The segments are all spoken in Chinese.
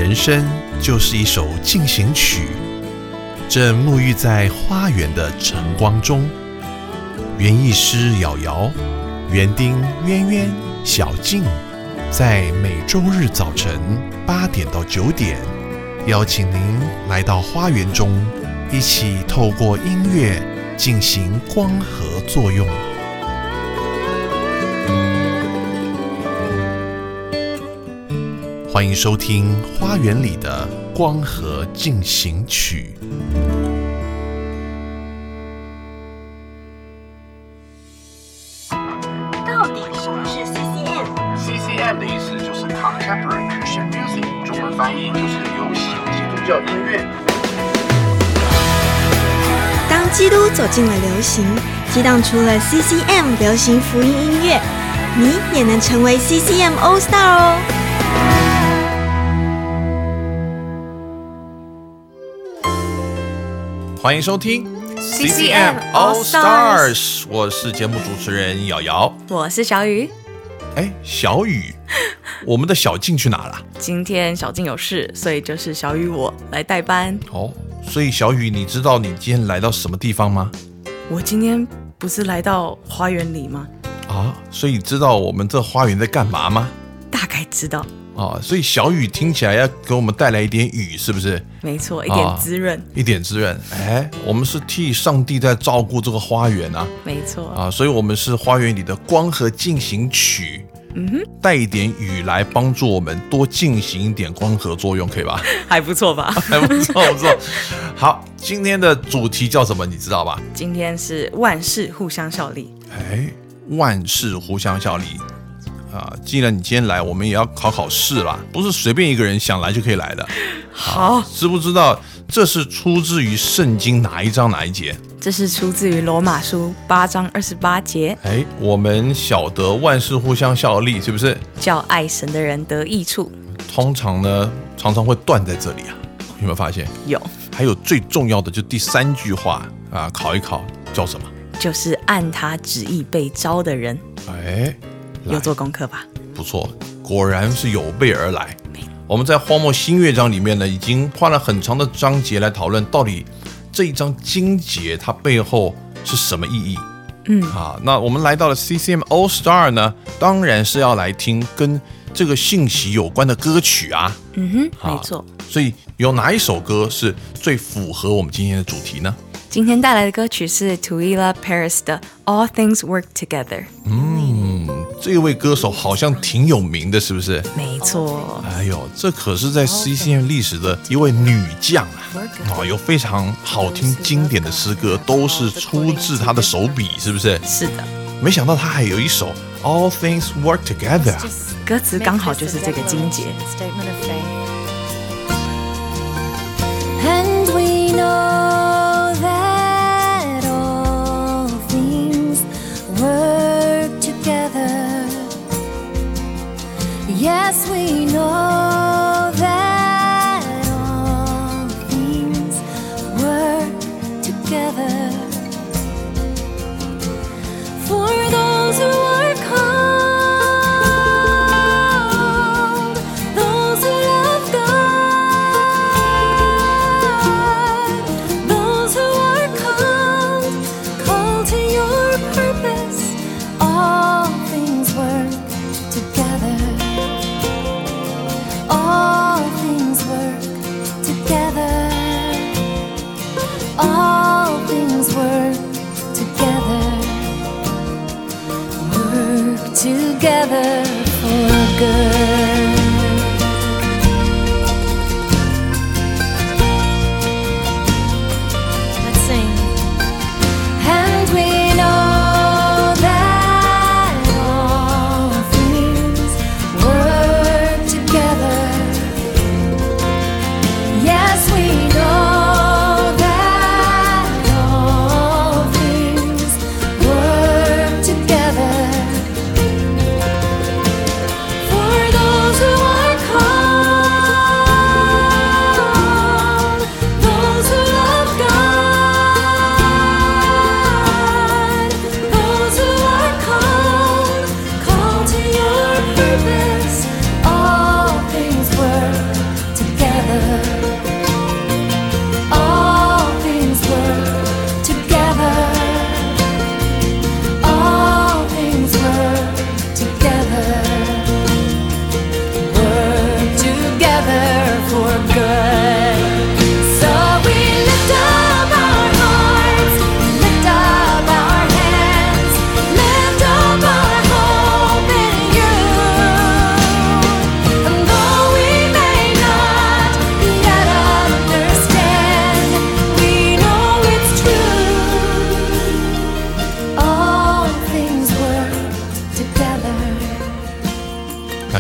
人生就是一首进行曲，正沐浴在花园的晨光中。园艺师瑶瑶、园丁渊渊、小静，在每周日早晨8点到9点，邀请您来到花园中，一起透过音乐进行光合作用。欢迎收听《花园里的光合进行曲》。 到底什么是 CCM？CCM 的意思就是 Contemporary Christian Music， 中文翻译就是流行基督教音乐。 当基督走进了流行，激荡出了 CCM 流行福音音乐，你也能成为 CCM All Star 哦！ 欢迎收听 CCM All Stars， 我是节目主持人瑶瑶， 我是小雨。 小雨，我们的小静去哪了？ 今天小静有事，所以就是小雨我来代班。 所以小雨，你知道你今天来到什么地方吗？ 我今天不是来到花园里吗？ 所以你知道我们这花园在干嘛吗？ 大概知道。 所以小雨听起来要给我们带来一点雨，是不是？ 没错，一点滋润， 一点滋润。我们是替上帝在照顾这个花园啊。 没错所以我们是花园里的光合进行曲。带一点雨来帮助我们多进行一点光合作用，可以吧？ 还不错吧？ 还不错，不错。好，今天的主题叫什么？你知道吧？ 今天是万事互相效力。 万事互相效力。既然你今天来，我们也要考试啦，不是随便一个人想来就可以来的。 好， 知不知道这是出自于圣经哪一章哪一节？ 这是出自于罗马书8章28节。 我们晓得万事互相效力，是不是？ 叫爱神的人得益处。 通常呢，常常会断在这里啊，有没有发现？ 有。 还有最重要的就第3句话考一考，叫什么？ 就是按他旨意被招的人。有做功课吧？不错，果然是有备而来。我们在荒漠新乐章里面呢，已经花了很长的章节来讨论到底这一章经节它背后是什么意义。那我们来到了 CCM All Star 呢，当然是要来听跟这个信息有关的歌曲啊。 没错。 所以有哪一首歌是最符合我们今天的主题呢？ 今天带来的歌曲是 Twila Paris 的 All Things Work Together。 这位歌手好像挺有名的，是不是？ 没错。 这可是在 CCM 历史的一位女将啊！有非常好听经典的诗歌，都是出自她的手笔，是不是？ 是的。 没想到她还有一首 All Things Work Together， 歌词刚好就是这个经节。 And we know that all things work together. Yes, we know that all things work together for those who are called, those who love God, those who are called to your purpose. All things work together. All things work together. All things work together. Work together for good. Let's sing. And we know that all things work together. Yes, we know that all things work together for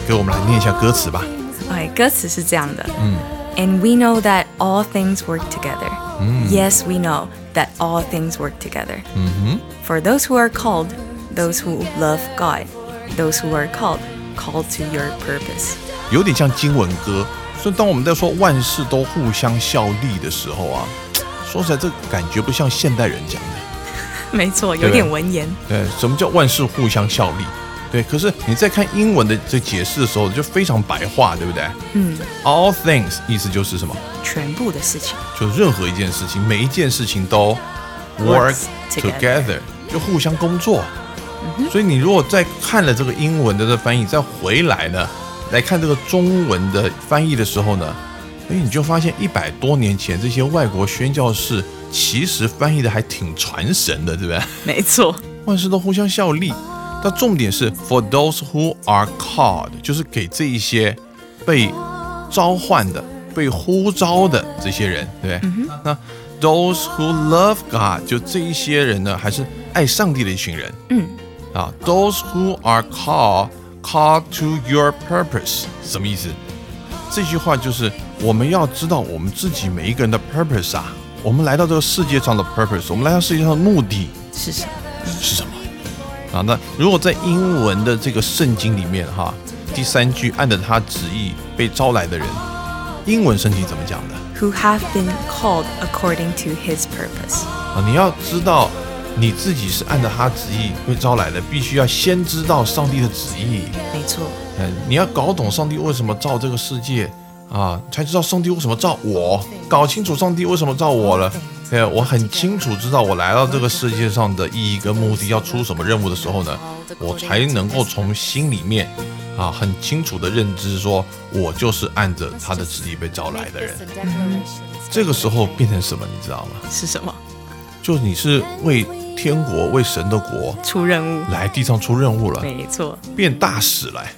给我们来念一下歌词吧。 歌词是这样的，And we know that all things work together. Yes, we know that all things work together. For those who are called, those who love God, those who are called to your purpose. 有点像经文歌，所以当我们在说万事都互相效力的时候啊，说实在，这感觉不像现代人讲的。 没错，有点文言。 对，什么叫万事互相效力？对，可是你在看英文的这解释的时候，就非常白话，对不对？All things 意思就是什么？ 全部的事情， 就任何一件事情，每一件事情都 work together， 就互相工作。所以你如果再看了这个英文的这翻译，再回来呢，来看这个中文的翻译的时候呢，你就发现100多年前这些外国宣教士其实翻译的还挺传神的，对不对？ 没错， 万事都互相效力。但重点是 for those who are called， 就是给这一些被召唤的、被呼召的这些人，对不对？那 those who love God， 就这一些人呢，还是爱上帝的一群人。those who are called to your purpose， 什么意思？这句话就是我们要知道我们自己每一个人的 purpose 啊，我们来到这个世界上的 purpose， 我们来到世界上的目的是什么？ 是什么？那如果在英文的这个圣经里面第3句按着他旨意被招来的人，英文圣经怎么讲的？ Who have been called according to his purpose。 你要知道你自己是按照他旨意被招来的，必须要先知道上帝的旨意。 没错。 你要搞懂上帝为什么造这个世界才知道上帝为什么造我，搞清楚上帝为什么造我了。我很清楚知道我来到这个世界上的意义跟目的，要出什么任务的时候呢，我才能够从心里面很清楚的认知说，我就是按着他的旨意被招来的人。这个时候变成什么，你知道吗？ 是什么？ 就你是为天国、为神的国出任务， 来地上出任务了。 没错， 变大使来。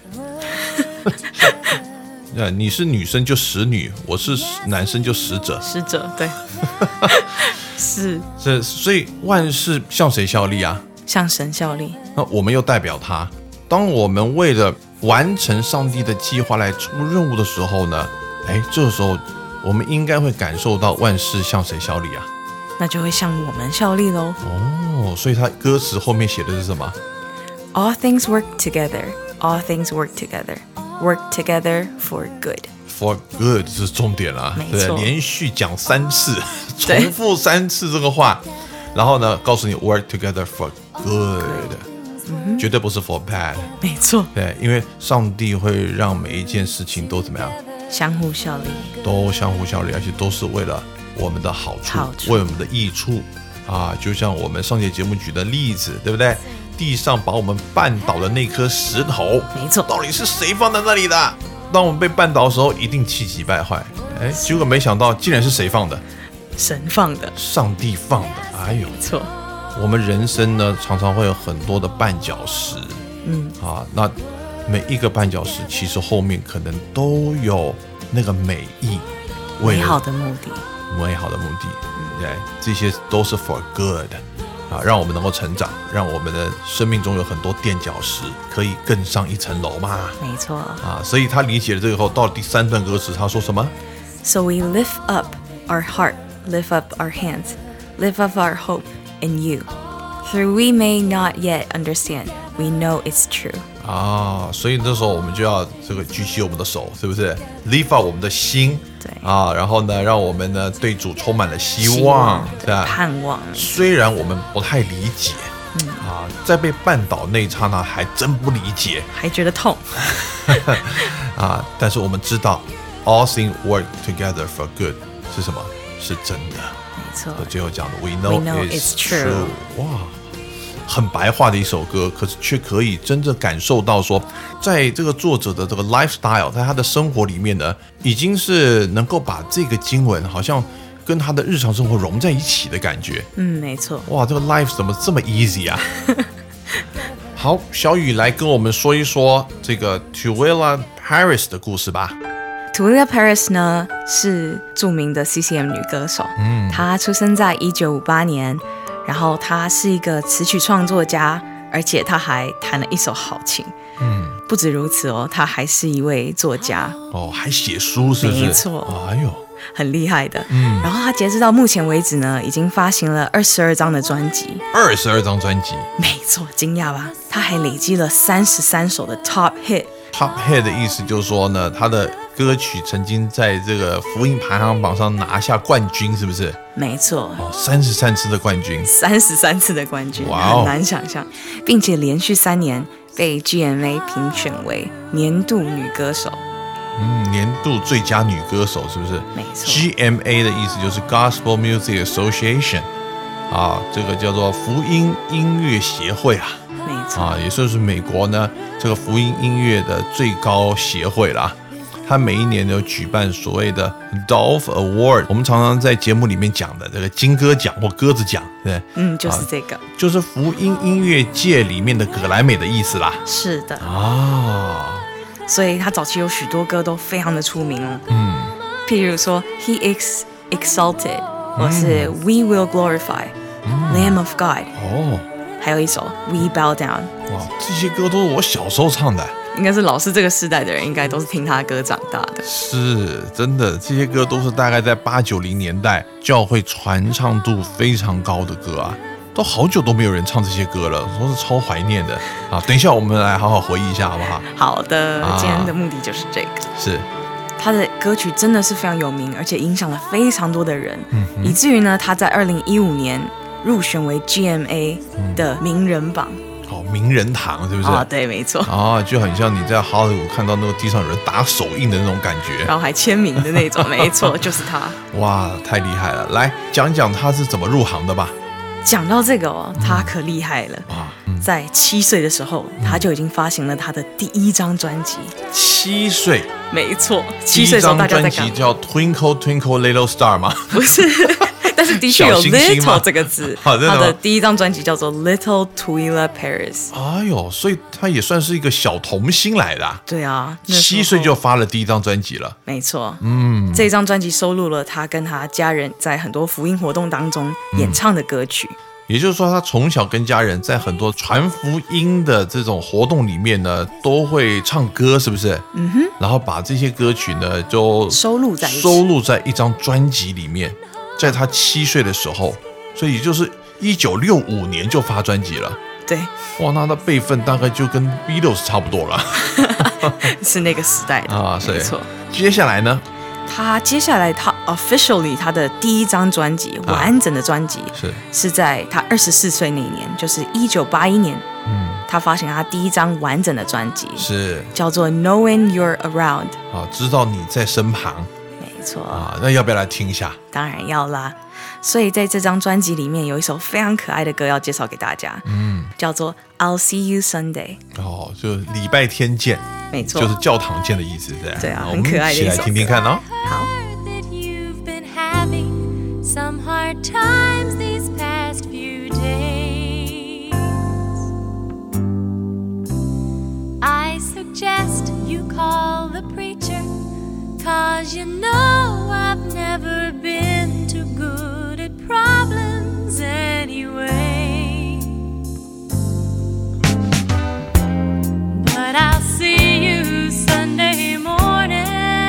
你是女生就使女，我是男生就使者。 使者，对。是， 所以万事向谁效力啊？ 向神效力。 那我们又代表他。当我们为了完成上帝的计划来出任务的时候呢，这个时候我们应该会感受到万事向谁效力啊？ 那就会向我们效力咯。 所以他歌词后面写的是什么？ All things work together. All things work together. Work together for good. For good 是重点啦，对，连续讲3次，重复3次这个话，然后呢，告诉你 work together for good，绝对不是 for bad。 没错， 对，因为上帝会让每一件事情都怎么样？ 相互效力， 都相互效力，而且都是为了我们的好处，为我们的益处就像我们上节节目举的例子，对不对？地上把我们绊倒的那颗石头， 没错， 到底是谁放在那里的？当我们被绊倒的时候，一定气急败坏。结果没想到，竟然是谁放的？ 神放的， 上帝放的。没错。 我们人生呢，常常会有很多的绊脚石。那每一个绊脚石，其实后面可能都有那个美意， 美好的目的。 对，这些都是 for good。让我们能够成长，让我们的生命中有很多垫脚石，可以更上一层楼嘛。 没错。 所以他理解了这个后，到了第3段歌词，他说什么 So we lift up our heart, lift up our hands, lift up our hope in you. Though we may not yet understand, we know it's true. 所以这时候我们就要这个举起我们的手，是不是 lift up 我们的心？ 对然后呢，让我们呢对主充满了希望，对吧？ 盼望。 虽然我们不太理解，在被绊倒那一刹那还真不理解， 还觉得痛， 但是我们知道 all things work together for good 是什么？是真的。 没错。 最后讲的 we know it's true。哇。很白话的一首歌，可是却可以真正感受到说，在这个作者的这个 lifestyle， 在他的生活里面呢，已经是能够把这个经文好像跟他的日常生活融在一起的感觉。 没错。 哇，这个 life 怎么这么 easy 啊？好，小雨来跟我们说一说这个 Twila Paris 的故事吧。 Twila Paris 呢是著名的 CCM 女歌手，她出生在1958年。然后他是一个词曲创作家，而且他还弹了一手好琴。 不止如此哦，他还是一位作家哦，还写书是不是？ 没错， 哎呦， 很厉害的。然后他截止到目前为止呢，已经发行了22张的专辑。 22张专辑， 没错，惊讶吧？他还累积了33首的 Top Hit。Top Hit 的意思就是说呢，他的歌曲曾经在这个福音排行榜上拿下冠军，是不是？ 没错 ，33次的冠军 ，33次的冠军， 哇哦， 很难想象，并且连续3年被 GMA 评选为年度女歌手。 年度最佳女歌手是不是？ 没错。 GMA 的意思就是 Gospel Music Association， 这个叫做福音音乐协会啊。 没错。 也就是美国呢这个福音音乐的最高协会啦。它每一年有举办所谓的 Dove Award， 我们常常在节目里面讲的这个金歌奖或鸽子奖，对， 就是这个， 就是福音音乐界里面的葛莱美的意思啦。 是的所以他早期有许多歌都非常的出名哦。譬如说 He is Exalted， 或是 We Will Glorify，Lamb of God， 还有一首 We Bow Down。 哇，这些歌都是我小时候唱的。 应该是老师这个世代的人，应该都是听他的歌长大的。 是真的，这些歌都是大概在80-90年代教会传唱度非常高的歌啊，都好久都没有人唱这些歌了，都是超怀念的啊！等一下我们来好好回忆一下，好不好？ 好的，今天的目的就是这个。 是， 他的歌曲真的是非常有名，而且影响了非常多的人，以至于呢，他在2015年入选为 GMA 的名人榜。 名人堂是不是？ 对，没错。 就很像你在好莱坞看到那个地上有人打手印的那种感觉， 然后还签名的那种，没错，就是他。 哇，太厉害了！来讲讲他是怎么入行的吧。 讲到这个他可厉害了。在7岁的时候，他就已经发行了他的第1张专辑。 7岁？ 没错，7岁的时候大家在干嘛？ 第一张专辑叫 Twinkle Twinkle Little Star 吗？ 不是。但是的确有 little 这个字，他的第1张专辑叫做 Little Twyla Paris。 哎呦，所以他也算是一个小童星来的。 对啊 ，7岁就发了第1张专辑了。 没错，这张专辑收录了他跟他家人在很多福音活动当中演唱的歌曲。 也就是说，他从小跟家人在很多传福音的这种活动里面呢，都会唱歌，是不是？然后把这些歌曲呢，就收录在一张专辑里面。在他7岁的时候，所以也就是1965年就发专辑了。 对， 哇，那他辈分大概就跟 Beatles 差不多了， 是那个时代的没错。 接下来呢？ 他officially 他的第1张专辑，完整的专辑是在他24岁那一年，就是1981年，他发行他第1张完整的专辑，是叫做 Knowing You're Around， 知道你在身旁。 没错那要不要来听一下？ 当然要啦。所以在这张专辑里面有一首非常可爱的歌要介绍给大家，叫做 I'll See You Sunday。 就礼拜天见。 没错， 就是教堂见的意思。 对啊，很可爱的一首歌。 我们一起来听听看哦。 好。 'Cause you know I've never been too good at problems anyway. But I'll see you Sunday morning.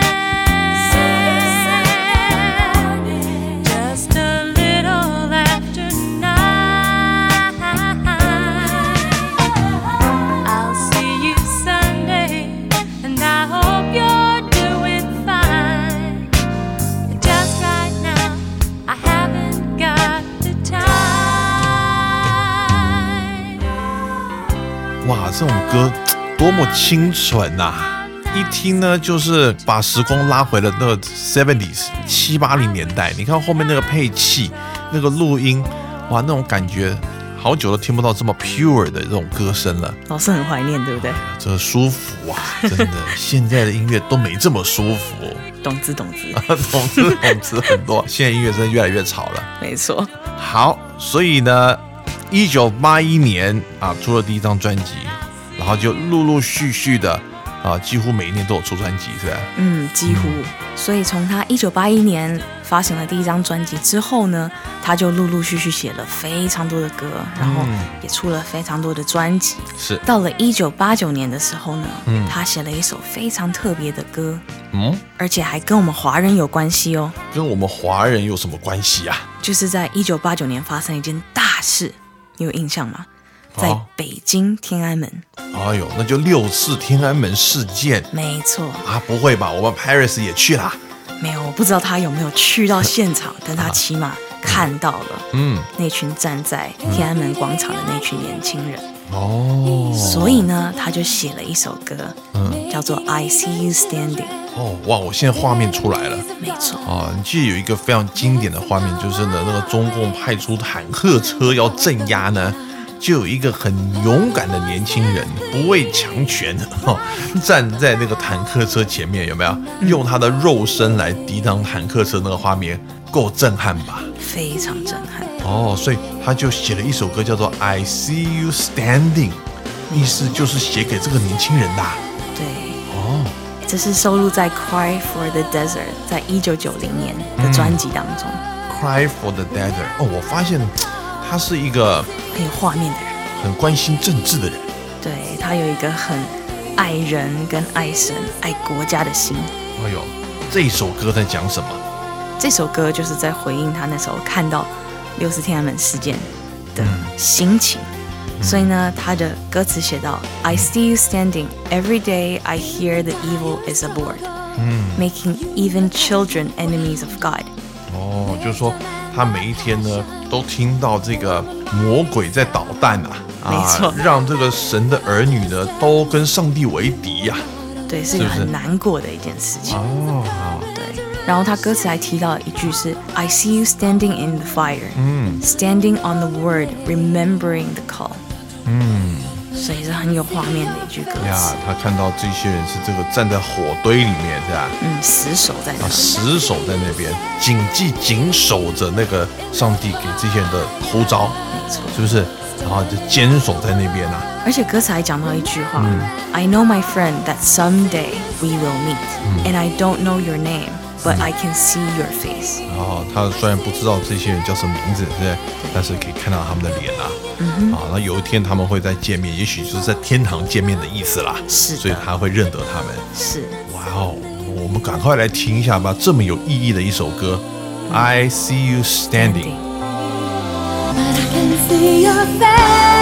Just a little after 9. I'll see you Sunday, and I hope you're 哇，这种歌多么清纯啊！一听呢，就是把时光拉回了那个 70s 7-80年代。你看后面那个配器、那个录音，哇，那种感觉，好久都听不到这么 pure 的这种歌声了。 老师很怀念，对不对？ 这舒服啊，真的，现在的音乐都没这么舒服。 懂之很多。现在音乐真的越来越吵了。 没错。 好，所以呢1981年出了第1张专辑，然后就陆陆续续的几乎每一年都有出专辑，是吧？ 几乎。所以从他1981年发行了第一张专辑之后呢，他就陆陆续续写了非常多的歌，然后也出了非常多的专辑。 是。 到了1989年的时候呢，他写了一首非常特别的歌，而且还跟我们华人有关系哦。 跟我们华人有什么关系啊？ 就是在1989年发生一件大事，你有印象吗？在北京天安门。 哎呦，那就6次天安门事件。 没错啊，不会吧？我们 Paris 也去啦？ 没有，我不知道他有没有去到现场，但他起码看到了那群站在天安门广场的那群年轻人。所以呢，他就写了一首歌，叫做 I See You Standing。 哇！我现在画面出来了。 没错你记得有一个非常经典的画面，就是呢，那个中共派出坦克车要镇压呢，就有一个很勇敢的年轻人，不畏强权，站在那个坦克车前面，有没有？用他的肉身来抵挡坦克车，那个画面够震撼吧？ 非常震撼。 所以他就写了一首歌，叫做 I See You Standing， 意思就是写给这个年轻人的。 对。这是收录在 Cry for the Desert 在1990年的专辑当中。 Cry for the Desert。我发现他是一个很有画面的人， 很关心政治的人。 对，他有一个很爱人跟爱神、爱国家的心。 这首歌在讲什么？ 这首歌就是在回应他那时候看到6次天安门事件的心情。所以呢，他的歌词写到 I see you standing, every day I hear the evil is aboard, making even children enemies of God。 就是说他每一天呢都听到这个魔鬼在捣蛋没错， 让这个神的儿女呢都跟上帝为敌呀。 对，是一个很难过的一件事情。对。然后他歌词还提到一句是 I see you standing in the fire, standing on the word, remembering the call。所以是很有画面的一句歌词。 他看到这些人是这个站在火堆里面，是吧？ 死守在那， 死守在那边，紧守着那个上帝给这些人的呼召， 没错， 是不是？然后就坚守在那边而且歌词还讲到一句话，I know my friend that someday we will meet, and I don't know your name.But I can see your face。 他虽然不知道这些人叫什么名字，对，但是可以看到他们的脸那有一天他们会再见面，也许就是在天堂见面的意思啦。 是， 所以他会认得他们。 是， 我们赶快来听一下吧，这么有意义的一首歌，I See You Standing。But I can see your face。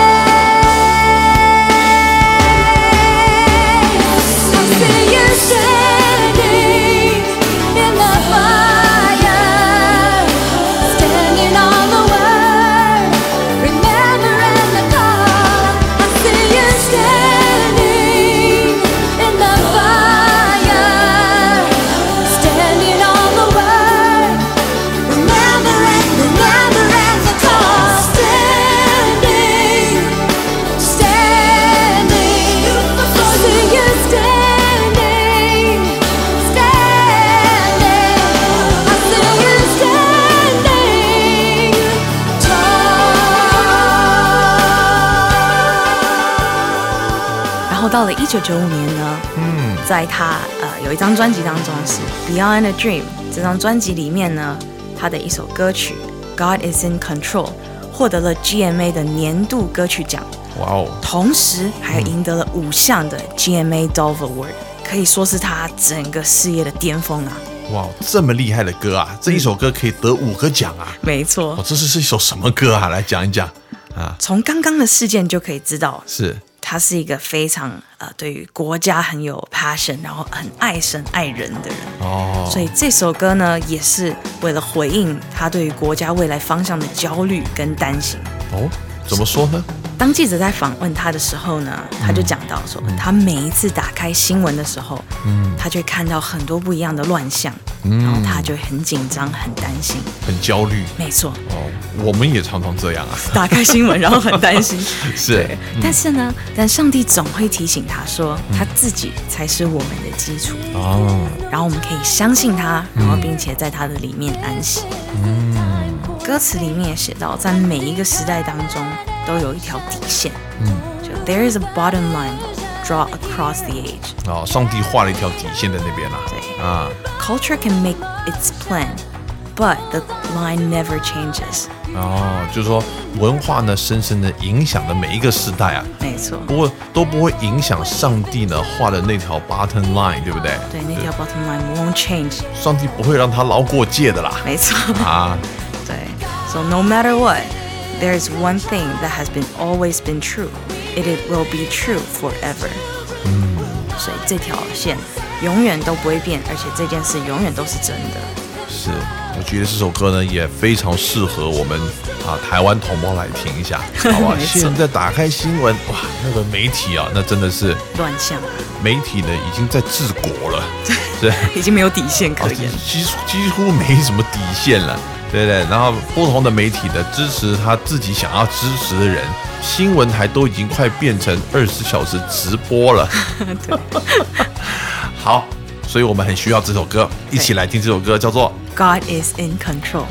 到了1995年呢，在他有一张专辑当中是 Beyond a Dream， 这张专辑里面呢，他的一首歌曲 God is in Control 获得了 GMA 的年度歌曲奖，同时还赢得了5项的 GMA Dove Award， 可以说是他整个事业的巅峰这么厉害的歌这一首歌可以得5个奖没错， 这是一首什么歌来讲一讲从刚刚的事件就可以知道， 是他是一个非常对于国家很有 passion， 然后很爱神爱人的人所以这首歌呢也是为了回应他对于国家未来方向的焦虑跟担心怎么说呢？ 当记者在访问他的时候呢，他就讲到说，他每一次打开新闻的时候，他就会看到很多不一样的乱象，然后他就会很紧张、很担心、 很焦虑。 没错， 我们也常常这样打开新闻然后很担心。 是， 但是呢，上帝总会提醒他说，他自己才是我们的基础然后我们可以相信他，然后并且在他的里面安息。歌词里面也写到，在每一个时代当中都有一条底线就 There is a bottom line draw across the age. 上帝画了一条底线在那边啦。 对啊 Culture can make its plan, but the line never changes. 就是说文化呢深深的影响了每一个时代啊。 没错。 不过都不会影响上帝呢画的那条 bottom line， 对不对？ 对，那条 bottom line won't change. 上帝不会让他捞过界的啦。 没错。对。So no matter what, there is one thing that has always been true. It will be true forever. 所以这条线永远都不会变，而且这件事永远都是真的。 是，我觉得这首歌呢也非常适合我们台湾同胞来听一下，好吧？现在打开新闻，哇，那个媒体啊，那真的是乱象。 媒体呢已经在治国了，对， 已经没有底线可言， 几乎没什么底线了，对不对？然后不同的媒体呢支持他自己想要支持的人，新闻台都已经快变成24小时直播了。好，所以我们很需要这首歌，一起来听这首歌，叫做 God is in control。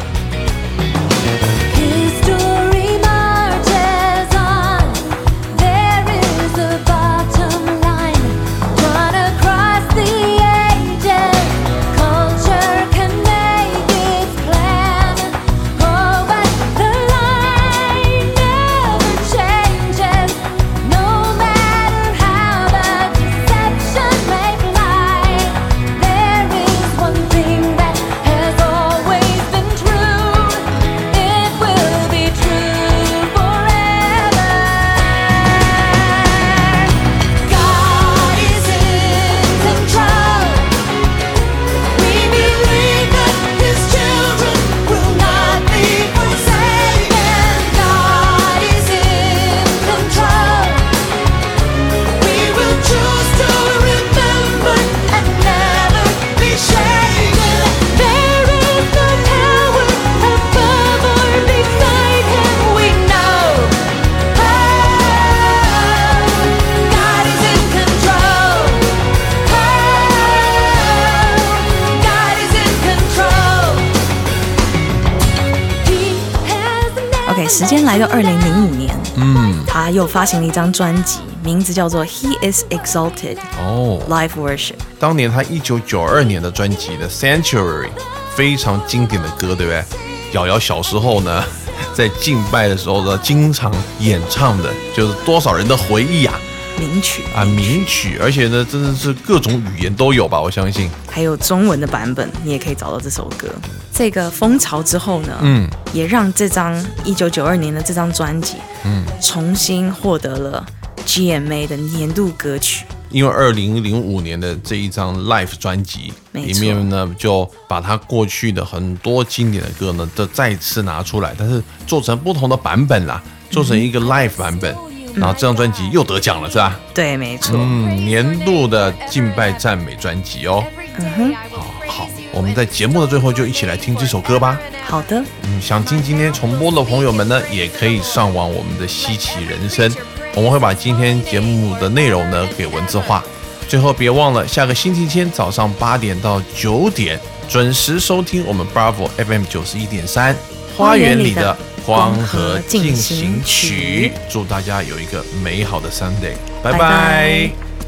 时间来到2005年，他又发行了一张专辑，名字叫做 He is Exalted Live Worship。 当年他1992年的专辑的 Sanctuary 非常经典的歌，对不对？瑶瑶小时候呢，在敬拜的时候呢，经常演唱的，就是多少人的回忆啊。名曲，而且呢，真的是各种语言都有吧，我相信。 还有中文的版本，你也可以找到这首歌。这个风潮之后呢，也让这张1992年的这张专辑，重新获得了 GMA 的年度歌曲。 因为2005年的这一张 Live 专辑里面呢，就把他过去的很多经典的歌呢，都再次拿出来，但是做成不同的版本啦，做成一个 Live 版本。然后这张专辑又得奖了，是吧？ 对，没错。 年度的敬拜赞美专辑哦。好，我们在节目的最后就一起来听这首歌吧。 好的。 想听今天重播的朋友们呢，也可以上网我们的稀奇人生，我们会把今天节目的内容呢给文字化。最后别忘了下个星期天早上8点到9点准时收听我们 Bravo FM 91.3花园里的光和进行曲，祝大家有一个美好的 Sunday， 拜拜。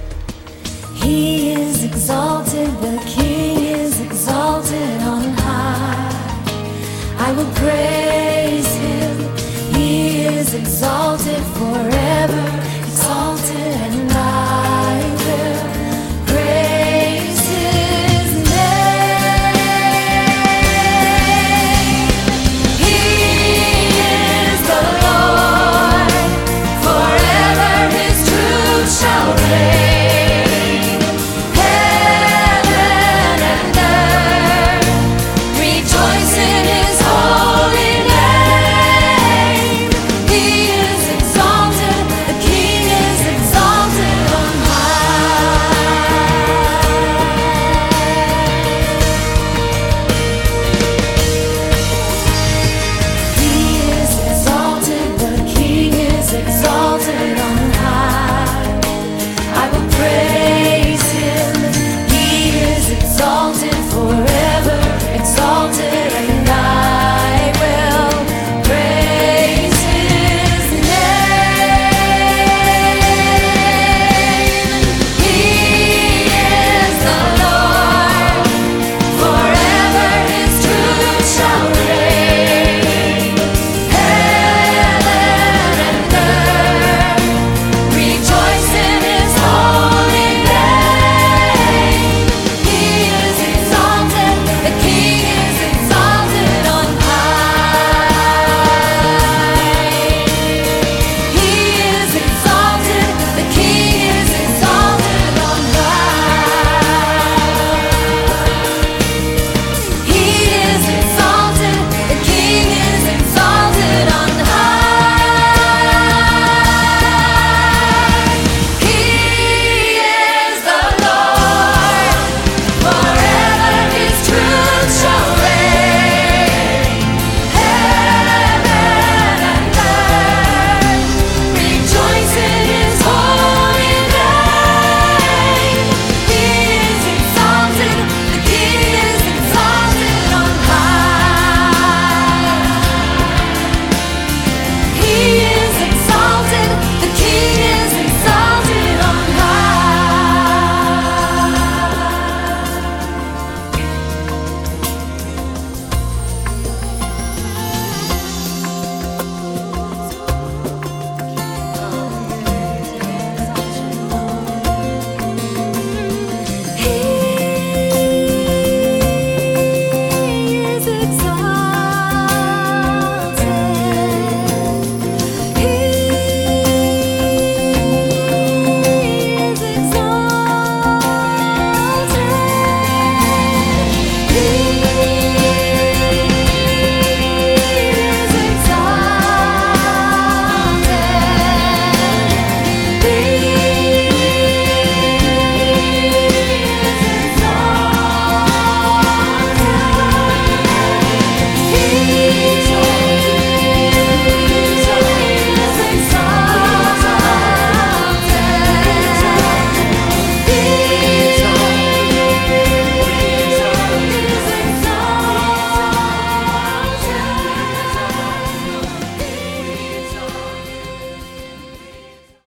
He is exalted, the King is exalted on high. I will praise him. He is exalted forever.